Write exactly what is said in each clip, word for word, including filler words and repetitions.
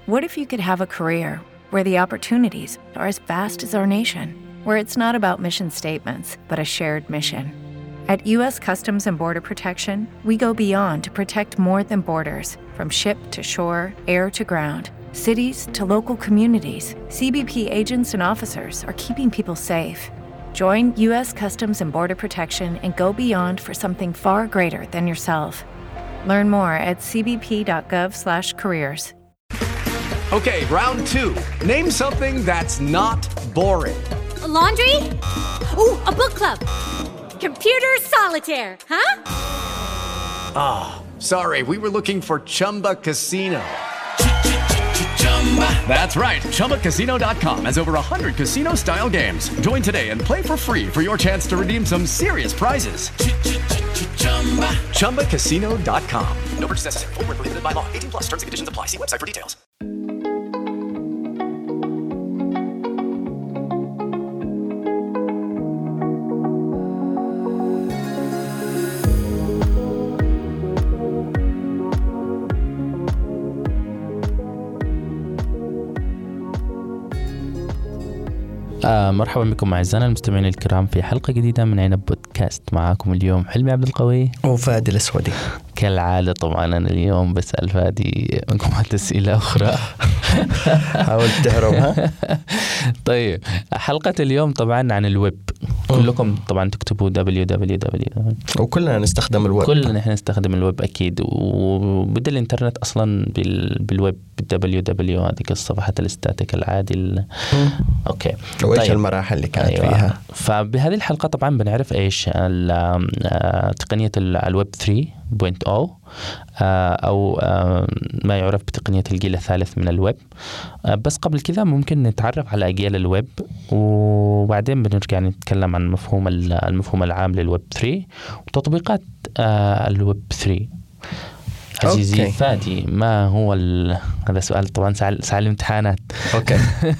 What if you could have a career where the opportunities are as vast as our nation, where it's not about mission statements, but a shared mission? At U S Customs and Border Protection, we go beyond to protect more than borders. From ship to shore, air to ground, cities to local communities, C B P agents and officers are keeping people safe. Join U S Customs and Border Protection and go beyond for something far greater than yourself. Learn more at c b p dot gov slash careers. Okay, round two. Name something that's not boring. A laundry? Ooh, a book club. Computer solitaire, huh? Ah, oh, sorry, we were looking for Chumba Casino. That's right, chumba casino dot com has over one hundred casino-style games. Join today and play for free for your chance to redeem some serious prizes. chumba casino dot com. No purchase necessary. Void where prohibited by law. eighteen plus terms and conditions apply. See website for details. آه مرحبا بكم أعزائنا المستمعين الكرام في حلقة جديدة من عنب بودكاست. معاكم اليوم حلمي عبد القوي وفادي الأسودي. كالعادة طبعا أنا اليوم بسأل فادي مجموعة أسئلة أخرى حاولت تهربها. طيب حلقة اليوم طبعا عن الويب. كلكم طبعا تكتبوا دبليو دبليو دبليو وكلنا نستخدم الويب. كلنا نحن نستخدم الويب أكيد، وبدأ الإنترنت أصلا بالويب دبليو دبليو هذه الصفحات الاستاتيك العادي. أوكي. وإيش طيب. المراحل اللي كانت أيوة. فيها؟ فبهذه الحلقة طبعا بنعرف إيش تقنية الويب ثري بوينت أو أو ما يعرف بتقنية الجيل الثالث من الويب. بس قبل كذا ممكن نتعرف على أجيال الويب، وبعدين بنرجع نتكلم عن مفهوم المفهوم العام للويب ثري وتطبيقات الويب ثري. عزيزي أوكي. فادي ما هو ال... هذا سؤال طبعا سأل سأل امتحانات. أوكي.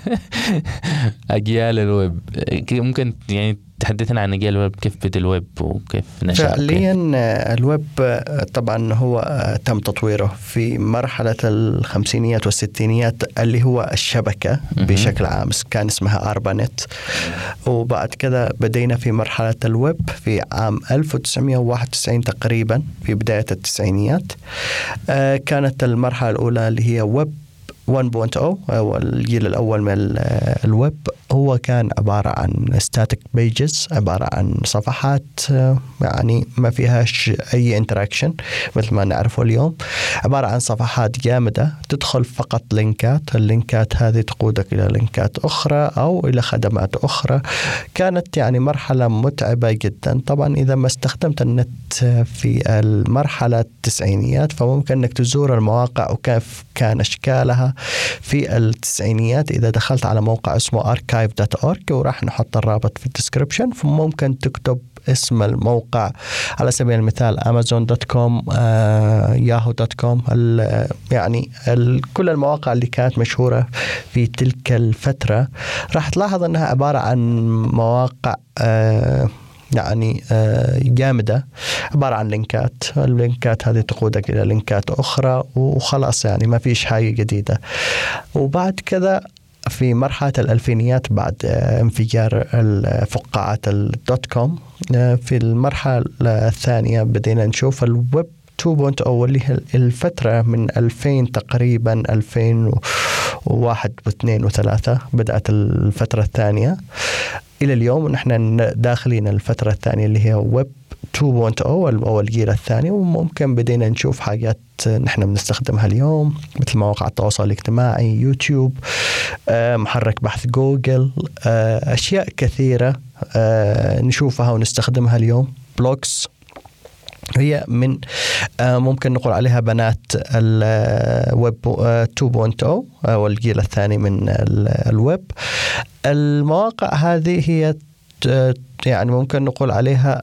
أجيال الويب ممكن يعني تحدثنا عن أجيال الويب، كيف بدأ الويب وكيف نشأ؟ فعليا الويب طبعا هو تم تطويره في مرحلة الخمسينيات والستينيات اللي هو الشبكة بشكل عام، كان اسمها أربانت. وبعد كده بدينا في مرحلة الويب في عام ألف وتسعمائة وواحد وتسعين تقريبا في بداية التسعينيات. كانت المرحلة الأولى اللي هي ويب واحد نقطة صفر أو الجيل الأول من الويب، هو كان عبارة عن static pages، عبارة عن صفحات يعني ما فيهاش أي interaction مثل ما نعرفه اليوم، عبارة عن صفحات جامدة تدخل فقط لينكات، اللينكات هذه تقودك إلى لينكات أخرى أو إلى خدمات أخرى. كانت يعني مرحلة متعبة جدا. طبعا إذا ما استخدمت النت في المرحلة التسعينيات فممكن أنك تزور المواقع وكيف كان أشكالها في التسعينيات. إذا دخلت على موقع اسمه archive دوت أورج وراح نحط الرابط في الديسكريبشن، فممكن تكتب اسم الموقع على سبيل المثال أمازون دوت كوم، ياهو دوت كوم، يعني كل المواقع اللي كانت مشهورة في تلك الفترة راح تلاحظ أنها عبارة عن مواقع آه يعني جامدة، عبارة عن لينكات. اللينكات هذه تقودك إلى لينكات أخرى وخلاص، يعني ما فيش حاجة جديدة. وبعد كذا في مرحلة الألفينيات بعد انفجار فقاعات الدوت كوم، في المرحلة الثانية بدينا نشوف الويب تو بوينت أو اللي هي الفترة من ألفين تقريبا ألفين وواحد واثنين وثلاثة بدأت الفترة الثانية إلى اليوم، ونحن داخلين الفترة الثانية اللي هي ويب تو بوينت أو أو الجيل الثاني. وممكن بدينا نشوف حاجات نحن بنستخدمها اليوم مثل مواقع التواصل الاجتماعي، يوتيوب، محرك بحث جوجل، أشياء كثيرة نشوفها ونستخدمها اليوم. بلوجز هي من ممكن نقول عليها بنات الويب تو بوينت أو أو الجيل الثاني من الويب. المواقع هذه هي يعني ممكن نقول عليها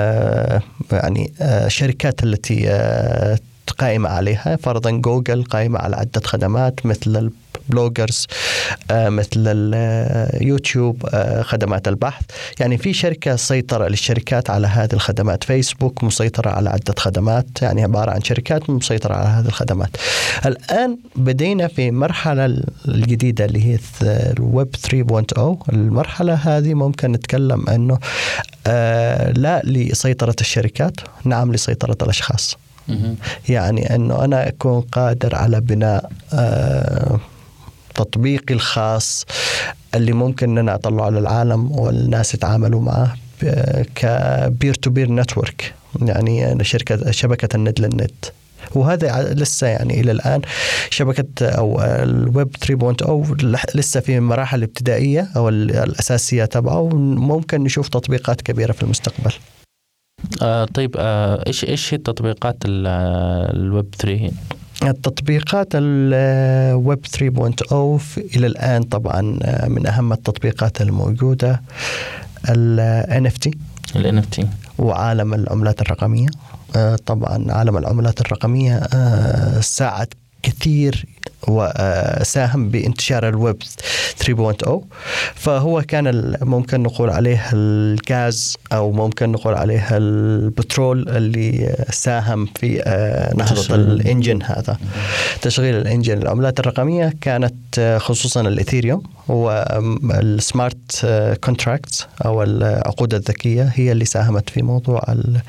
يعني شركات التي قائمة عليها. فرضا جوجل قائمة على عدة خدمات مثل بلوجرز، مثل اليوتيوب، خدمات البحث. يعني في شركة سيطرة للشركات على هذه الخدمات. فيسبوك مسيطرة على عدة خدمات، يعني عبارة عن شركات مسيطرة على هذه الخدمات. الآن بدينا في مرحلة الجديدة اللي هي الويب ثري بوينت أو. المرحلة هذه ممكن نتكلم أنه آه لا لسيطرة الشركات، نعم لسيطرة الأشخاص. يعني أنه أنا أكون قادر على بناء آه تطبيقي الخاص اللي ممكن أن أطلعه للعالم والناس يتعاملوا معه كبير تو بير نتورك، يعني شركة شبكة النت للنت. وهذا لسه يعني إلى الآن شبكة أو الويب ثري بوينت أو لسه في مراحل ابتدائية أو الأساسية تبعه، وممكن نشوف تطبيقات كبيرة في المستقبل. آه طيب آه إيش إيش هي تطبيقات الويب ثري؟ التطبيقات الويب ثري بوينت أو إلى الآن طبعا من أهم التطبيقات الموجودة ال إن إف تي ال إن إف تي وعالم العملات الرقمية. طبعا عالم العملات الرقمية ساعد كثير وساهم بانتشار الويب ثري بوينت أو. فهو كان ممكن نقول عليه الغاز أو ممكن نقول عليه البترول اللي ساهم في نهضة الإنجن هذا، تشغيل الإنجن. العملات الرقمية كانت خصوصا الإثيريوم والسمارت كونتراكتس أو العقود الذكية هي اللي ساهمت في موضوع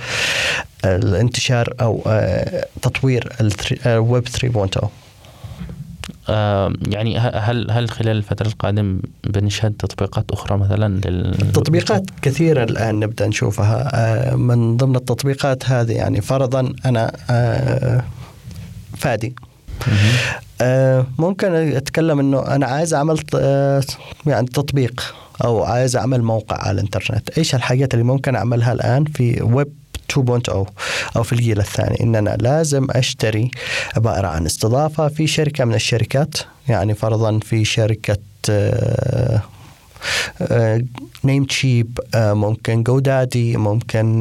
الانتشار أو تطوير الويب ثري بوينت أو. آه يعني هل هل خلال الفترة القادمة بنشهد تطبيقات أخرى مثلا لل... تطبيقات كثيرة الآن نبدأ نشوفها. آه من ضمن التطبيقات هذه يعني فرضا أنا آه فادي آه ممكن أتكلم إنه أنا عايز أعمل آه يعني تطبيق أو عايز أعمل موقع على الإنترنت. إيش الحاجات اللي ممكن أعملها الآن في ويب تو بوينت أو أو في الجيل الثاني؟ إن أنا لازم أشتري عبارة عن استضافة في شركة من الشركات، يعني فرضا في شركة نيم تشيب، ممكن جودادي، ممكن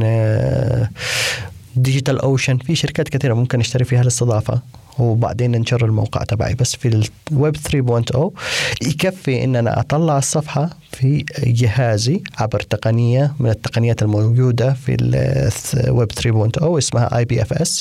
ديجيتال أوشن، في شركات كثيرة ممكن أشتري فيها الاستضافة وبعدين ننشر الموقع تبعي. بس في الويب ثري بوينت أو يكفي إن أنا أطلع الصفحة في جهازي عبر تقنية من التقنيات الموجودة في الويب ثري بوينت أو اسمها آي بي إف إس.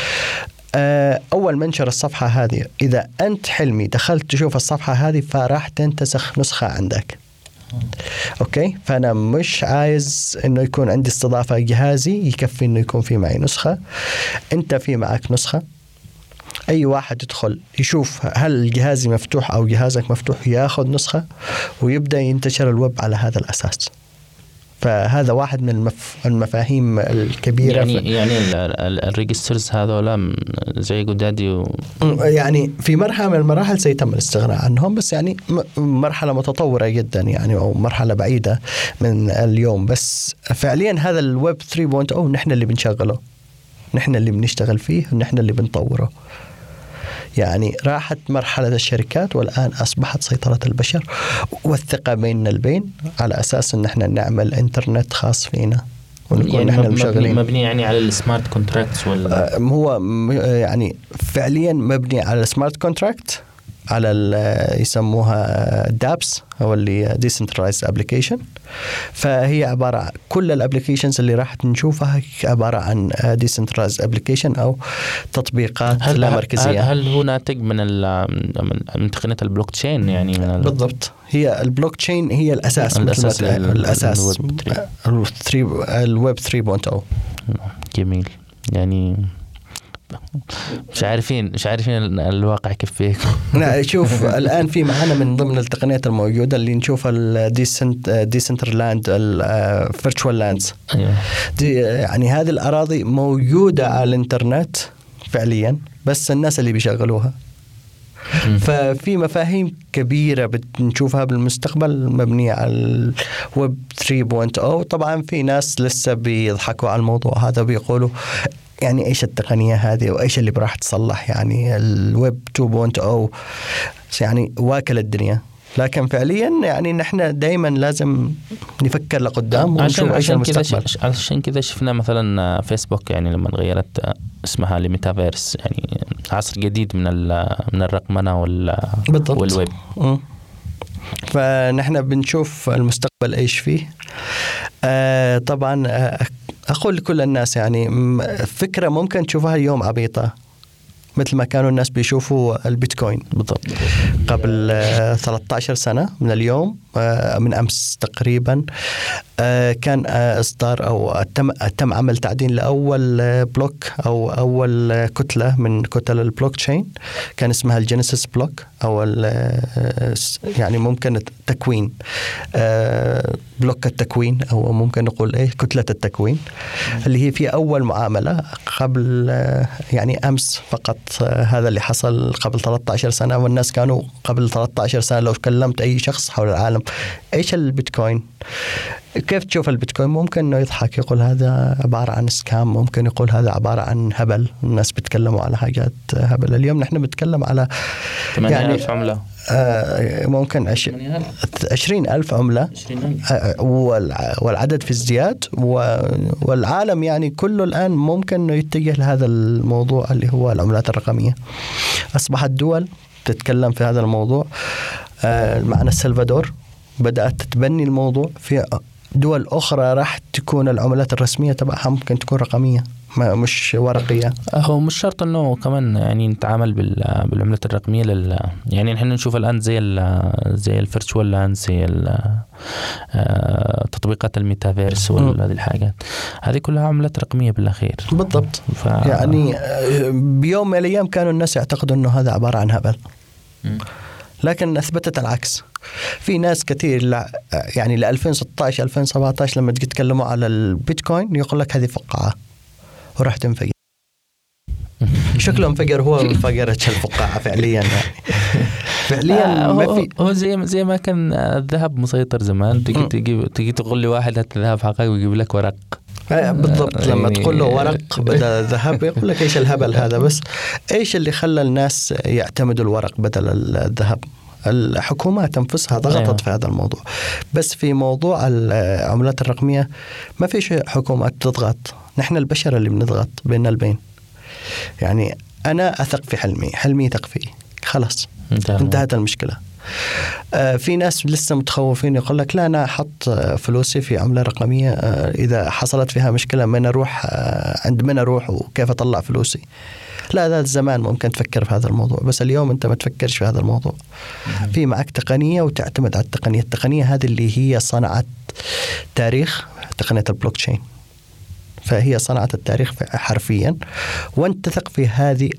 أول ما انشر الصفحة هذه، إذا أنت حلمي دخلت تشوف الصفحة هذه فراح تنتسخ نسخة عندك. أوكي، فأنا مش عايز إنه يكون عندي استضافة جهازي، يكفي إنه يكون في معي نسخة. أنت في معك نسخة، أي واحد يدخل يشوف هل جهازي مفتوح أو جهازك مفتوح ياخذ نسخة ويبدأ ينتشر الويب على هذا الأساس. فهذا واحد من المف... المفاهيم الكبيرة. يعني في... يعني الريجسترز هذول زي جودادي و... يعني في مرحلة من المراحل سيتم الاستغناء عنهم، بس يعني مرحلة متطورة جدا يعني، أو مرحلة بعيدة من اليوم. بس فعليا هذا الويب ثري بوينت أو نحن اللي بنشغله، نحن اللي بنشتغل فيه، ونحن اللي بنطوره. يعني راحت مرحلة الشركات والآن أصبحت سيطرة البشر والثقة بيننا البين، على أساس أن احنا نعمل إنترنت خاص فينا ونكون يعني نحن مبني, مبني يعني على السمارت كونتراكتس ولا هو يعني فعليا مبني على السمارت كونتراكت، على يسموها دابس أو اللي Decentralized Application. فهي عبارة عن كل الابليكيشنز اللي راح نشوفها عبارة عن Decentralized Application أو تطبيقات هل لا مركزية. هل, هل هو ناتج من من تقنية البلوك تشين؟ يعني من بالضبط، هي البلوك تشين هي الأساس، الأساس الأساس الويب ثري بوينت أو. جميل. يعني مش عارفين مش عارفين الواقع كيف فيه. لا شوف الآن في معنا من ضمن التقنيات الموجودة اللي نشوفها الديسنت ديسنترلاند الفيرتشوال لاندز. يعني هذه الأراضي موجودة على الإنترنت فعليا، بس الناس اللي بيشغلوها. ففي مفاهيم كبيرة بنشوفها بالمستقبل مبنية على الويب ثري بوينت أو. طبعا في ناس لسه بيضحكوا على الموضوع هذا، بيقولوا يعني إيش التقنية هذه وإيش اللي براح تصلح. يعني الويب تو بوينت أو يعني واكل الدنيا، لكن فعليا يعني نحن دائما لازم نفكر لقدام ونشوف ايش المستقبل. عشان كذا شفنا مثلا فيسبوك يعني لما غيرت اسمها لميتافيرس، يعني عصر جديد من من الرقمنه والويب. فنحن بنشوف المستقبل ايش فيه. آه طبعا آه اقول لكل الناس يعني فكره ممكن تشوفها اليوم عبيطه، مثل ما كانوا الناس بيشوفوا البيتكوين بالضبط قبل ثلاثة عشر سنة من اليوم، من أمس تقريبا، كان إصدار أو تم تم عمل تعدين لأول بلوك أو أول كتلة من كتل البلوك تشين، كان اسمها الجينيسيس بلوك أو يعني ممكن التكوين، بلوك التكوين أو ممكن نقول إيه كتلة التكوين، اللي هي في أول معاملة قبل يعني أمس فقط. هذا اللي حصل قبل ثلاثة عشر سنة، والناس كانوا قبل ثلاثة عشر سنة لو كلمت أي شخص حول العالم إيش البيتكوين، كيف تشوف البيتكوين، ممكن إنه يضحك يقول هذا عبارة عن سكام، ممكن يقول هذا عبارة عن هبل، الناس بيتكلموا على حاجات هبل. اليوم نحن بنتكلم على ثمانية آلاف عملة، آه ممكن عش... عشرين ألف عملة، آه والعدد في ازدياد، والعالم يعني كله الآن ممكن إنه يتجه لهذا الموضوع اللي هو العملات الرقمية. أصبحت دول تتكلم في هذا الموضوع. آه معنا السلفادور بدأت تتبني الموضوع، في دول أخرى راح تكون العملات الرسمية تبعها ممكن تكون رقمية مش ورقية. هو مش شرط إنه كمان يعني نتعامل بالعملات الرقمية لل يعني نحن نشوف الآن زي ال زي الفيرتشوال لاند، زي تطبيقات الميتافيرس وهذه الحاجات، هذه كلها عملات رقمية بالأخير. بالضبط. ف... يعني بيوم من الأيام كانوا الناس يعتقدوا إنه هذا عبارة عن هبل، لكن أثبتت العكس. في ناس كثير يعني ل ألفين وستة عشر ألفين وسبعة عشر لما تجي تكلموا على البيتكوين يقول لك هذه فقاعة وراح تنفجر. شكله انفجر، هو انفجرت الفقاعة فعليا يعني. فعليا ما في. هو زي زي ما كان الذهب مسيطر زمان، تجي تجي تجي تقول لي واحد هات الذهب حقيقي ويجيب لك ورق. بالضبط. لما تقول له ورق بدل الذهب يقول لك ايش الهبل هذا. بس ايش اللي خلى الناس يعتمدوا الورق بدل الذهب؟ الحكومات انفسها ضغطت في هذا الموضوع. بس في موضوع العملات الرقمية ما فيش حكومات تضغط، نحن البشر اللي بنضغط بيننا البين. يعني أنا أثق في حلمي، حلمي يثق فيه، خلاص انتهت المشكلة. آه في ناس لسه متخوفين يقول لك لا أنا أحط فلوسي في عملة رقمية، آه إذا حصلت فيها مشكلة من أروح، آه عند من أروح وكيف أطلع فلوسي. لا ذا الزمان ممكن تفكر في هذا الموضوع، بس اليوم أنت ما تفكرش في هذا الموضوع. في معك تقنية وتعتمد على التقنية. التقنية هذه اللي هي صنعت تاريخ، تقنية البلوك تشين، فهي صنعت التاريخ حرفيا. وانت تثق في هذه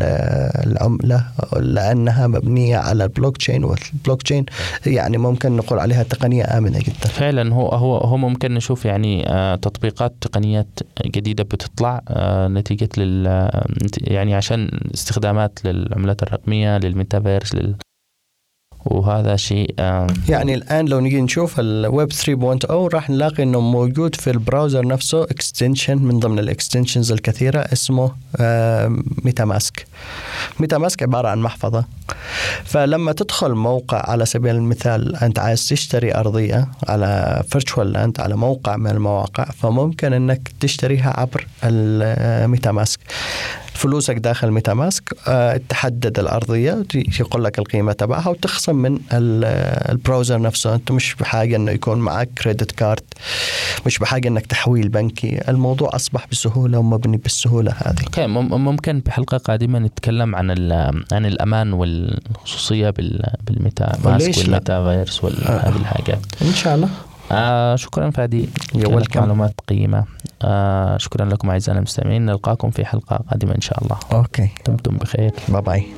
العملة لأنها مبنية على البلوك تشين، والبلوك تشين يعني ممكن نقول عليها تقنية آمنة جدا. فعلا هو هو هو ممكن نشوف يعني تطبيقات تقنيات جديدة بتطلع نتيجة لل يعني عشان استخدامات للعملات الرقمية، للميتافيرس، لل وهذا شيء آه يعني الآن لو نيجي نشوف الويب ثري بوينت أو راح نلاقي إنه موجود في البراوزر نفسه اكستنشن من ضمن الاكستنشنز الكثيرة اسمه آه ميتا ماسك. ميتا ماسك عبارة عن محفظة، فلما تدخل موقع على سبيل المثال أنت عايز تشتري أرضية على فيرتشوال لاند على موقع من المواقع، فممكن إنك تشتريها عبر الميتا ماسك. فلوسك داخل ميتا ماسك، أه تحدد الأرضية، يقول لك القيمة تبعها وتخصم من البراوزر نفسه. أنت مش بحاجة إنه يكون معك كريدت كارد، مش بحاجة إنك تحويل بنكي. الموضوع أصبح بسهولة ومبني بالسهولة هذه. okay. ممكن بحلقة قادمة نتكلم عن عن الأمان والخصوصية بالميتا ماسك والميتافيرس وهذه الحاجات إن شاء الله. آه شكرا فادي، كانت معلومات قيمة. آه شكرا لكم أعزائنا المستمعين، نلقاكم في حلقة قادمة إن شاء الله. أوكي، دمتم بخير. باي باي.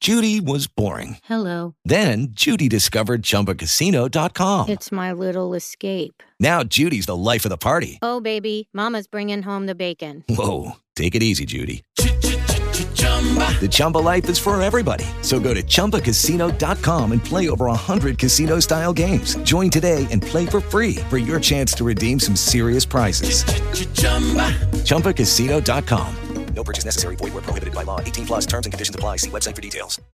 Judy was boring. Hello. Then Judy discovered Chumba Casino dot com. It's my little escape. Now Judy's the life of the party. Oh, baby, mama's bringing home the bacon. Whoa, take it easy, Judy. The Chumba life is for everybody. So go to Chumba Casino dot com and play over one hundred casino-style games. Join today and play for free for your chance to redeem some serious prizes. Chumba Casino dot com. No purchase necessary. Void where prohibited by law. eighteen plus terms and conditions apply. See website for details.